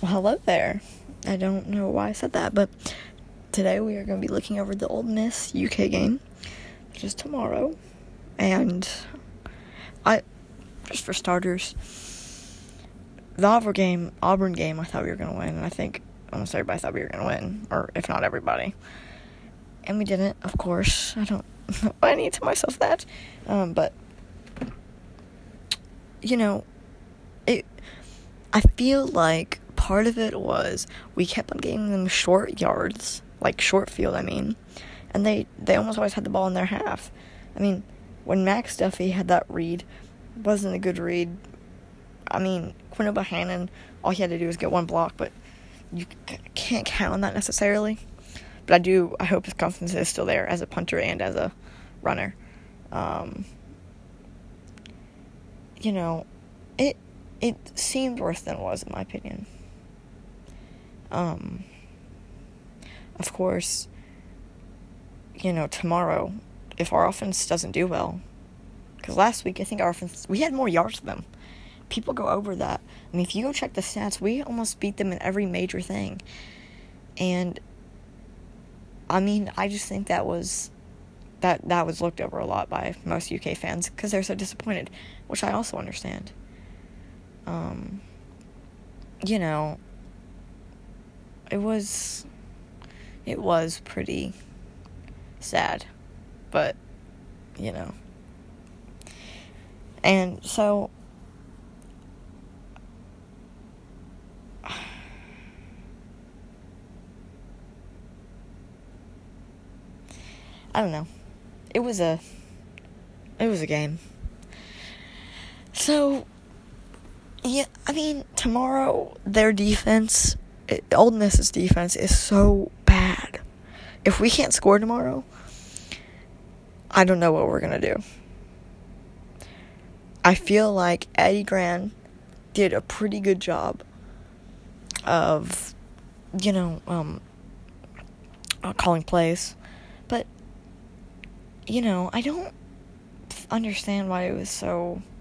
Well, hello there. I don't know why I said that, but today we are going to be looking over the Ole Miss UK game, which is tomorrow. And just for starters, the Auburn game, I thought we were going to win, and I think almost everybody thought we were going to win, or if not everybody. And we didn't, of course. I don't know why I need to tell myself that. But, I feel like part of it was we kept on giving them short yards, like short field, and they almost always had the ball in their half. When Max Duffy had that read, it wasn't a good read. Quinn Bohannon, all he had to do was get one block, but you can't count on that necessarily. But I hope his confidence is still there as a punter and as a runner. It seemed worse than it was, in my opinion. Of course, tomorrow, if our offense doesn't do well, because last week I think our offense, we had more yards than them. People go over that. If you go check the stats, we almost beat them in every major thing. And, I just think that was looked over a lot by most UK fans because they're so disappointed, which I also understand. It was pretty sad, but, and so, I don't know. It was a game. So, yeah, tomorrow, their defense, Ole Miss's defense is so bad. If we can't score tomorrow, I don't know what we're going to do. I feel like Eddie Gran did a pretty good job of, calling plays. But, I don't understand why it was so